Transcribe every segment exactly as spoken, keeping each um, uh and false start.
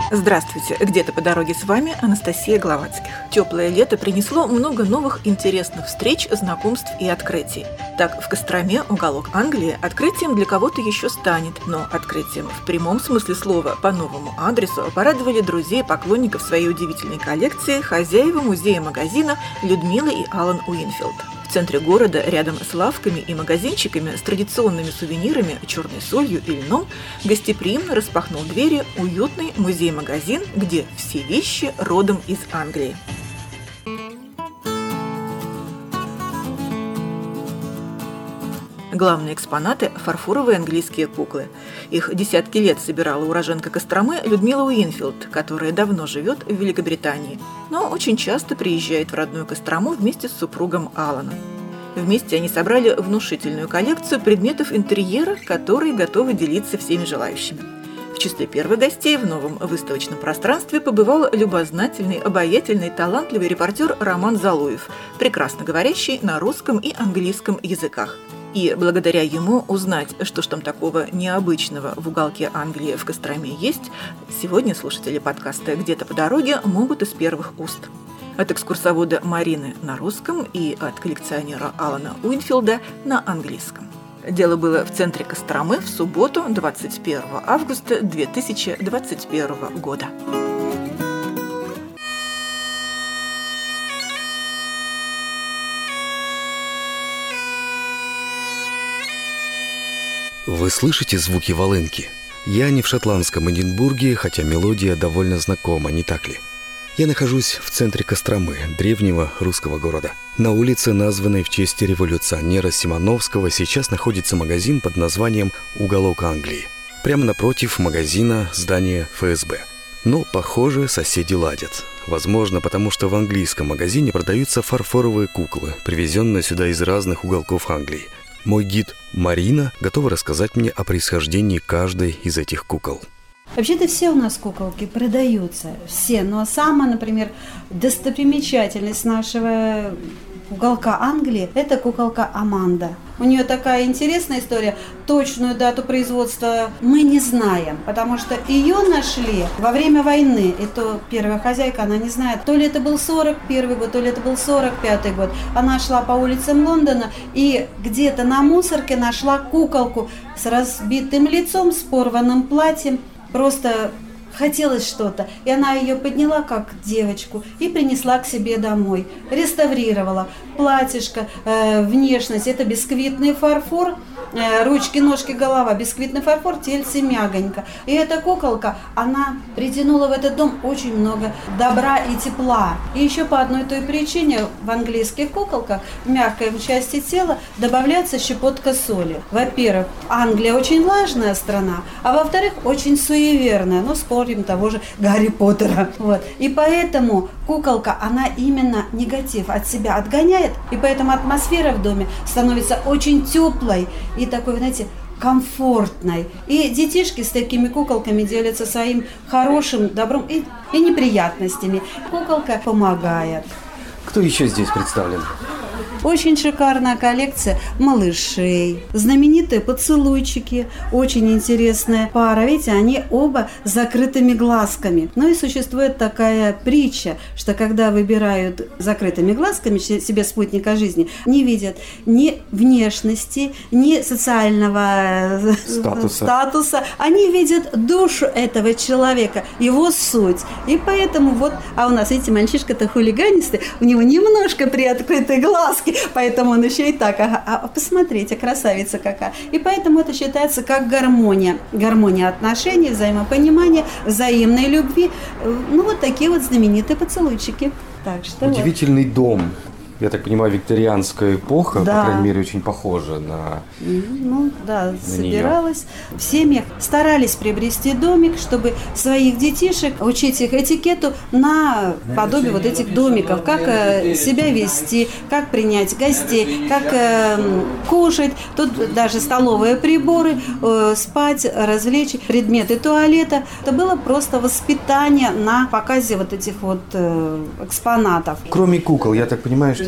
Здравствуйте! Где-то по дороге с вами Анастасия Гловацких. Теплое лето принесло много новых интересных встреч, знакомств и открытий. Так, в Костроме уголок Англии открытием для кого-то еще станет, но открытием в прямом смысле слова по новому адресу порадовали друзей и поклонников своей удивительной коллекции хозяева музея-магазина Людмила и Алан Уинфилд. В центре города, рядом с лавками и магазинчиками с традиционными сувенирами, черной солью и льном, гостеприимно распахнул двери уютный музей-магазин, где все вещи родом из Англии. Главные экспонаты – фарфоровые английские куклы. Их десятки лет собирала уроженка Костромы Людмила Уинфилд, которая давно живет в Великобритании, но очень часто приезжает в родную Кострому вместе с супругом Аланом. Вместе они собрали внушительную коллекцию предметов интерьера, которые готовы делиться всеми желающими. В числе первых гостей в новом выставочном пространстве побывал любознательный, обаятельный, талантливый репортер Роман Залуев, прекрасно говорящий на русском и английском языках. И благодаря ему узнать, что ж там такого необычного в уголке Англии в Костроме есть, сегодня слушатели подкаста «Где-то по дороге» могут из первых уст. От экскурсовода Марины на русском и от коллекционера Алана Уинфилда на английском. Дело было в центре Костромы в субботу, двадцать первого августа две тысячи двадцать первого года. Вы слышите звуки волынки? Я не в шотландском Эдинбурге, хотя мелодия довольно знакома, не так ли? Я нахожусь в центре Костромы, древнего русского города. На улице, названной в честь революционера Симоновского, сейчас находится магазин под названием «Уголок Англии». Прямо напротив магазина здание эф эс бэ. Но, похоже, соседи ладят. Возможно, потому что в английском магазине продаются фарфоровые куклы, привезенные сюда из разных уголков Англии. Мой гид Марина готова рассказать мне о происхождении каждой из этих кукол. Вообще-то все у нас куколки продаются, все. Но самая, например, достопримечательность нашего уголка Англии – это куколка Аманда. У нее такая интересная история. Точную дату производства мы не знаем, потому что ее нашли во время войны. И то первая хозяйка, она не знает, то ли это был сорок первый год, то ли это был сорок пятый год. Она шла по улицам Лондона и где-то на мусорке нашла куколку с разбитым лицом, с порванным платьем. Просто хотелось что-то, и она ее подняла как девочку и принесла к себе домой, реставрировала. Платьишко, э, внешность – это бисквитный фарфор, э, ручки, ножки, голова, бисквитный фарфор, тельце мягонько. И эта куколка, она притянула в этот дом очень много добра и тепла. И еще по одной той причине в английских куколках в мягкой части тела добавляется щепотка соли. Во-первых, Англия очень влажная страна, а во-вторых, очень суеверная. Ну, спорим того же Гарри Поттера. Вот. И поэтому куколка, она именно негатив от себя отгоняет, и поэтому атмосфера в доме становится очень теплой и такой, знаете, комфортной. И детишки с такими куколками делятся своим хорошим добром и, и неприятностями. Куколка помогает. Кто еще здесь представлен? Очень шикарная коллекция малышей, знаменитые поцелуйчики, очень интересная пара. Видите, они оба с закрытыми глазками. Ну и существует такая притча, что когда выбирают закрытыми глазками себе спутника жизни, не видят ни внешности, ни социального статуса. статуса. Они видят душу этого человека, его суть. И поэтому вот, а у нас, видите, мальчишка-то хулиганистый, у него немножко приоткрытые глазки, поэтому он еще и так, ага, а посмотрите, красавица какая. И поэтому это считается как гармония. Гармония отношений, взаимопонимания, взаимной любви. Ну, вот такие вот знаменитые поцелуйчики. Так что удивительный вот дом. Я так понимаю, викторианская эпоха, да. По крайней мере, очень похожа на Ну, да, на собиралась. нее. В семьях старались приобрести домик, чтобы своих детишек учить их этикету на подобие вот этих домиков. Как э, себя вести, как принять гостей, как э, кушать. Тут даже столовые приборы, э, спать, развлечь, предметы туалета. Это было просто воспитание на показе вот этих вот э, экспонатов. Кроме кукол, я так понимаю, что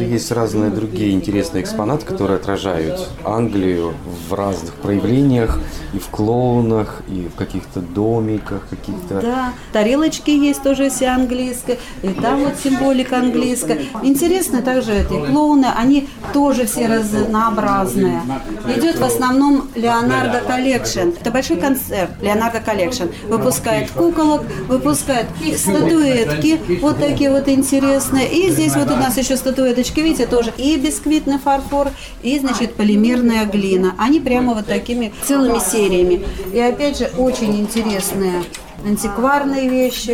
что есть разные другие интересные экспонаты, которые отражают Англию в разных проявлениях, и в клоунах, и в каких-то домиках, каких-то... Да, тарелочки есть тоже все английские, и там вот символика английская. Интересно также эти клоуны, они тоже все разнообразные. Идет в основном Leonardo Collection. Это большой концерт Leonardo Collection. Выпускает куколок, выпускает статуэтки, вот такие вот интересные. И здесь вот у нас еще статуэточки, видите, тоже и бисквитный фарфор, и, значит, полимерная глина. Они прямо вот такими целыми сериями. И опять же, очень интересные антикварные вещи.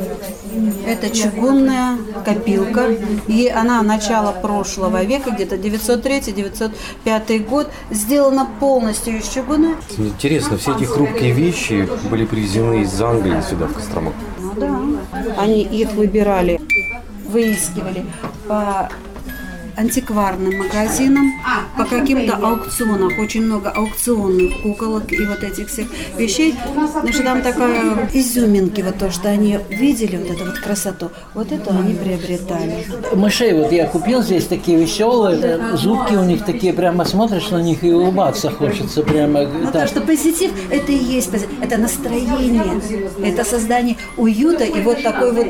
Это чугунная копилка. И она начала прошлого века, где-то девятьсот третий — девятьсот пятый год. Сделана полностью из чугуна. Интересно, все эти хрупкие вещи были привезены из Англии сюда, в Кострому. Ну да. Они их выбирали, выискивали по антикварным магазинам, по каким-то аукционам. Очень много аукционных куколок и вот этих всех вещей. Значит, там такая изюминки, вот то, что они видели, вот эту вот красоту, вот это они приобретали. Мышей вот я купил здесь такие веселые, зубки у них такие, прямо смотришь на них и улыбаться хочется прямо. Ну то, что позитив, это и есть позитив, это настроение, это создание уюта и вот такой вот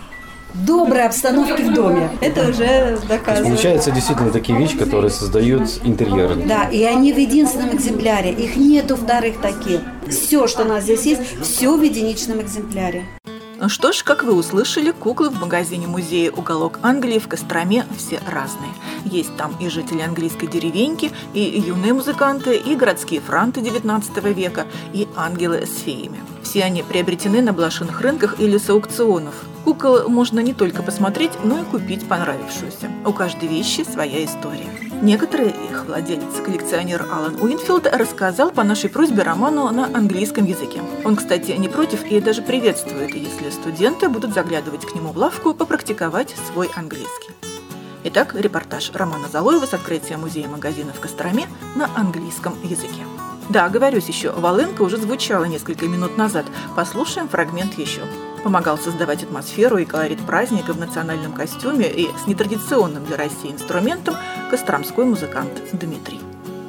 доброй обстановки в доме. Это уже доказано. Получается, действительно такие вещи, которые создают интерьер. Да, и они в единственном экземпляре. Их нету вторых таких. Все, что у нас здесь есть, все в единичном экземпляре. Что ж, как вы услышали, куклы в магазине-музее «Уголок Англии» в Костроме все разные. Есть там и жители английской деревеньки, и юные музыканты, и городские франты девятнадцатого века, и ангелы с феями. Все они приобретены на блошиных рынках или с аукционов. Кукол можно не только посмотреть, но и купить понравившуюся. У каждой вещи своя история. Некоторые их владелец, коллекционер Алан Уинфилд, рассказал по нашей просьбе роману на английском языке. Он, кстати, не против и даже приветствует, если студенты будут заглядывать к нему в лавку попрактиковать свой английский. Итак, репортаж Романа Залоева с открытия музея-магазина в Костроме на английском языке. Да, оговорюсь еще, волынка уже звучала несколько минут назад. Послушаем фрагмент еще. Помогал создавать атмосферу и колорит праздника в национальном костюме и с нетрадиционным для России инструментом костромской музыкант Дмитрий.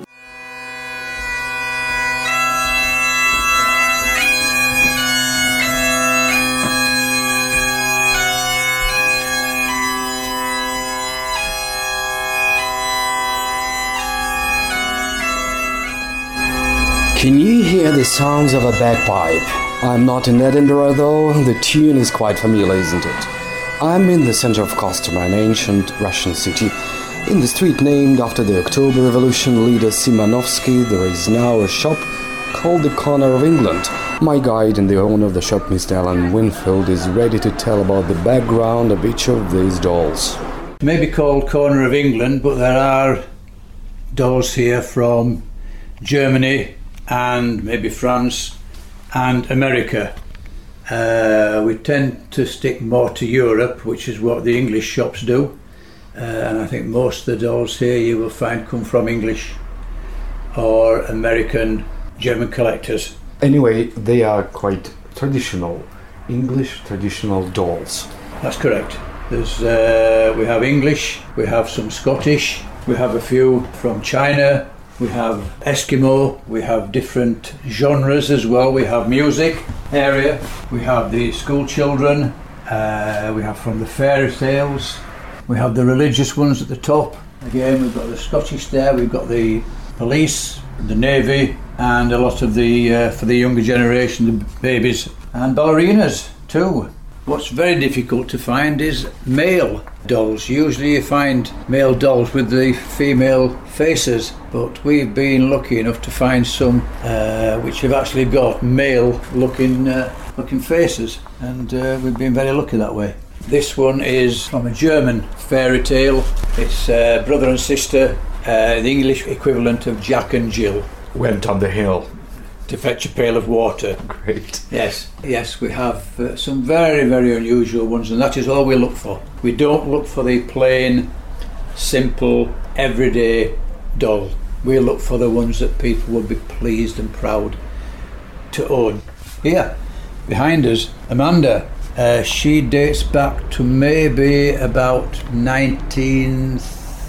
Can you hear the sounds of a bagpipe? I'm not in Edinburgh though, the tune is quite familiar, isn't it? I'm in the center of Kostomy, an ancient Russian city. In the street named after the October Revolution leader Simanovsky, there is now a shop called the Corner of England. My guide and the owner of the shop, Mister Alan Winfield, is ready to tell about the background of each of these dolls. It may be called Corner of England, but there are dolls here from Germany and maybe France and America. Uh, we tend to stick more to Europe, which is what the English shops do. Uh, and I think most of the dolls here you will find come from English or American, German collectors. Anyway, they are quite traditional, English traditional dolls. That's correct. There's, uh, we have English, we have some Scottish, we have a few from China, we have Eskimo, we have different genres as well. We have music area, we have the school children, uh, we have from the fairy tales, we have the religious ones at the top. Again, we've got the Scottish there, we've got the police, the navy, and a lot of the, uh, for the younger generation, the babies, and ballerinas too. What's very difficult to find is male dolls. Usually you find male dolls with the female faces, but we've been lucky enough to find some uh, which have actually got male looking uh, looking faces, and uh, we've been very lucky that way. This one is from a German fairy tale. It's uh, brother and sister, uh, the English equivalent of Jack and Jill. Went up the hill to fetch a pail of water. Great. Yes, yes, we have uh, some very, very unusual ones, and that is all we look for. We don't look for the plain, simple, everyday doll. We look for the ones that people would be pleased and proud to own. Here, behind us, Amanda. Uh, she dates back to maybe about nineteen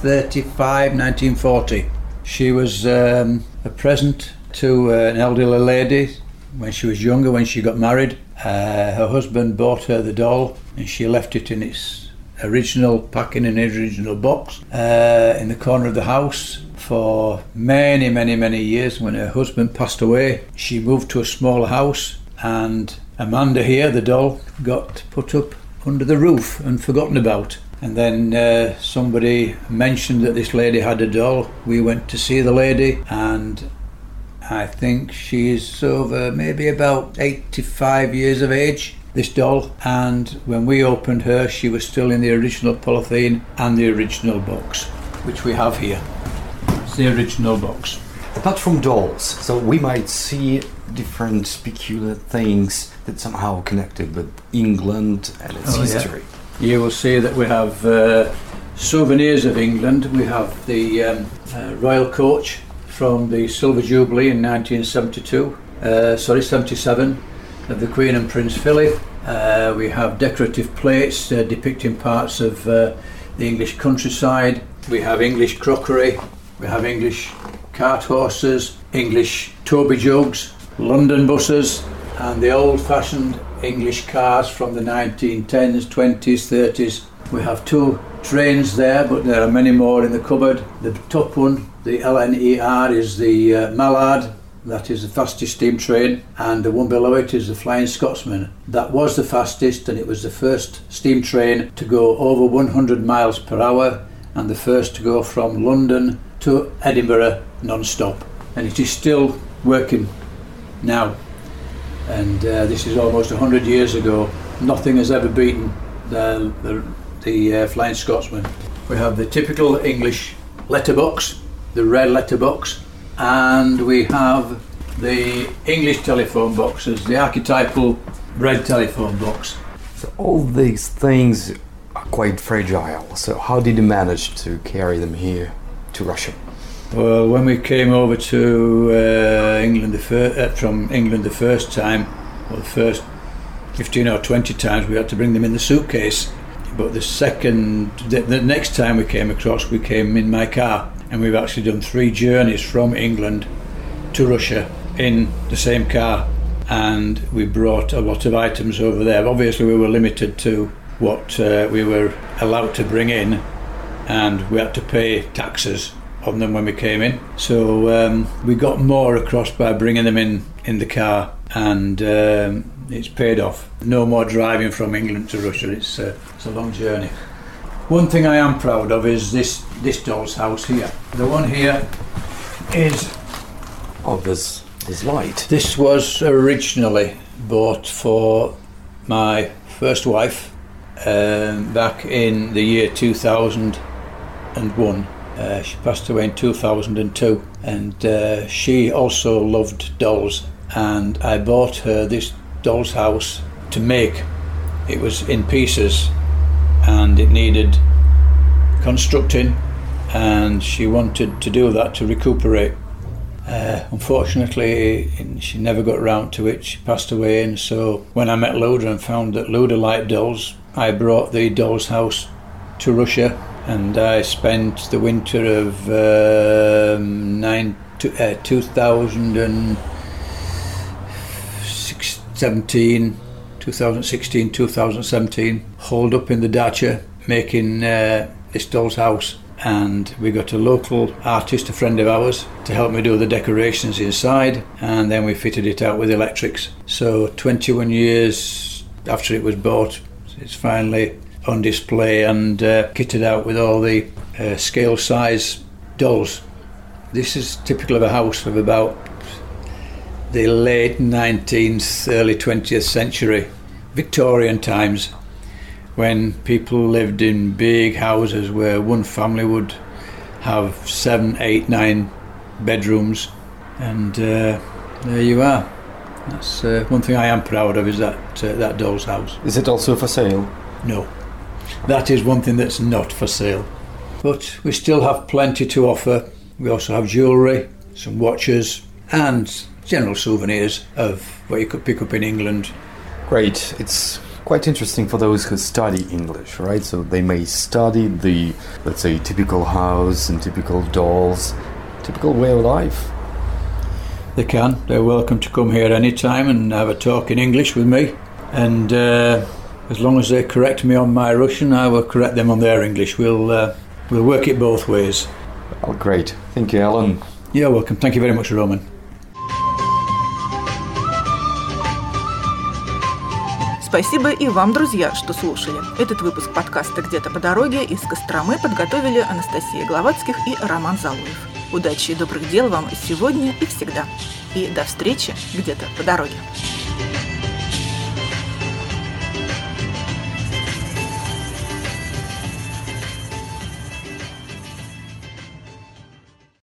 thirty-five, nineteen forty. She was um, a present to uh, an elderly lady when she was younger, when she got married. Uh, her husband bought her the doll and she left it in its original packing in its original box uh, in the corner of the house for many, many, many years. When her husband passed away, she moved to a smaller house, and Amanda here, the doll, got put up under the roof and forgotten about. And then uh, somebody mentioned that this lady had a doll. We went to see the lady, and I think she's over maybe about eighty-five years of age, this doll. And when we opened her, she was still in the original polythene and the original box, which we have here. It's the original box. Apart from dolls, so we might see different peculiar things that somehow connected with England and its Oh, history. yeah. You will see that we have uh, souvenirs of England. We have the um, uh, Royal Coach from the Silver Jubilee in nineteen seventy-two, uh, sorry, seventy-seven, of the Queen and Prince Philip. Uh, we have decorative plates uh, depicting parts of uh, the English countryside. We have English crockery. We have English cart horses, English Toby jugs, London buses, and the old-fashioned English cars from the nineteen tens, twenties, thirties. We have two trains there, but there are many more in the cupboard. The top one, the L N E R, is the uh, Mallard. That is the fastest steam train, and the one below it is the Flying Scotsman. That was the fastest, and it was the first steam train to go over one hundred miles per hour, and the first to go from London to Edinburgh non-stop. And it is still working now. And uh, this is almost one hundred years ago. Nothing has ever beaten the, the, the uh, Flying Scotsman. We have the typical English letterbox, the red letterbox, and we have the English telephone boxes, the archetypal red telephone box. So all these things are quite fragile. So how did you manage to carry them here to Russia? Well, when we came over to uh, England the fir- uh, from England the first time, well, the first fifteen or twenty times, we had to bring them in the suitcase. But the second, the, the next time we came across, we came in my car, and we've actually done three journeys from England to Russia in the same car, and we brought a lot of items over there. Obviously, we were limited to what uh, we were allowed to bring in, and we had to pay taxes on them when we came in. So um, we got more across by bringing them in in the car, and um, it's paid off. No more driving from England to Russia. It's, uh, it's a long journey. One thing I am proud of is this this doll's house here. The one here is... Oh, there's, there's light. This was originally bought for my first wife um, back in the year two thousand one. Uh, she passed away in two thousand two, and uh, she also loved dolls, and I bought her this doll's house to make. It was in pieces and it needed constructing, and she wanted to do that to recuperate. Uh, unfortunately, she never got around to it. She passed away, and so when I met Luda and found that Luda liked dolls, I brought the doll's house to Russia. And I spent the winter of um, nine, uh, two thousand seventeen, two thousand sixteen, two thousand seventeen, holed up in the dacha making uh, this doll's house. And we got a local artist, a friend of ours, to help me do the decorations inside, and then we fitted it out with electrics. So twenty-one years after it was bought, it's finally on display and uh, kitted out with all the uh, scale size dolls. This is typical of a house of about the late nineteenth, early twentieth century, Victorian times, when people lived in big houses where one family would have seven, eight, nine bedrooms, and uh, there you are. That's uh, one thing I am proud of, is that uh, that doll's house. Is it also for sale? No. That is one thing that's not for sale. But we still have plenty to offer. We also have jewellery, some watches, and general souvenirs of what you could pick up in England. Great. It's quite quite interesting for those who study English, right? So they may study the, let's say, typical house and typical dolls, typical way of life. They can. They're welcome to come here anytime and have a talk in English with me. And uh, as long as they correct me on my Russian, I will correct them on their English. We'll uh, we'll work it both ways. Oh, great. Thank you, Alan. You're welcome. Thank you very much, Roman. Спасибо и вам, друзья, что слушали. Этот выпуск подкаста «Где-то по дороге» из Костромы подготовили Анастасия Гловацких и Роман Залуев. Удачи и добрых дел вам сегодня и всегда. И до встречи где-то по дороге.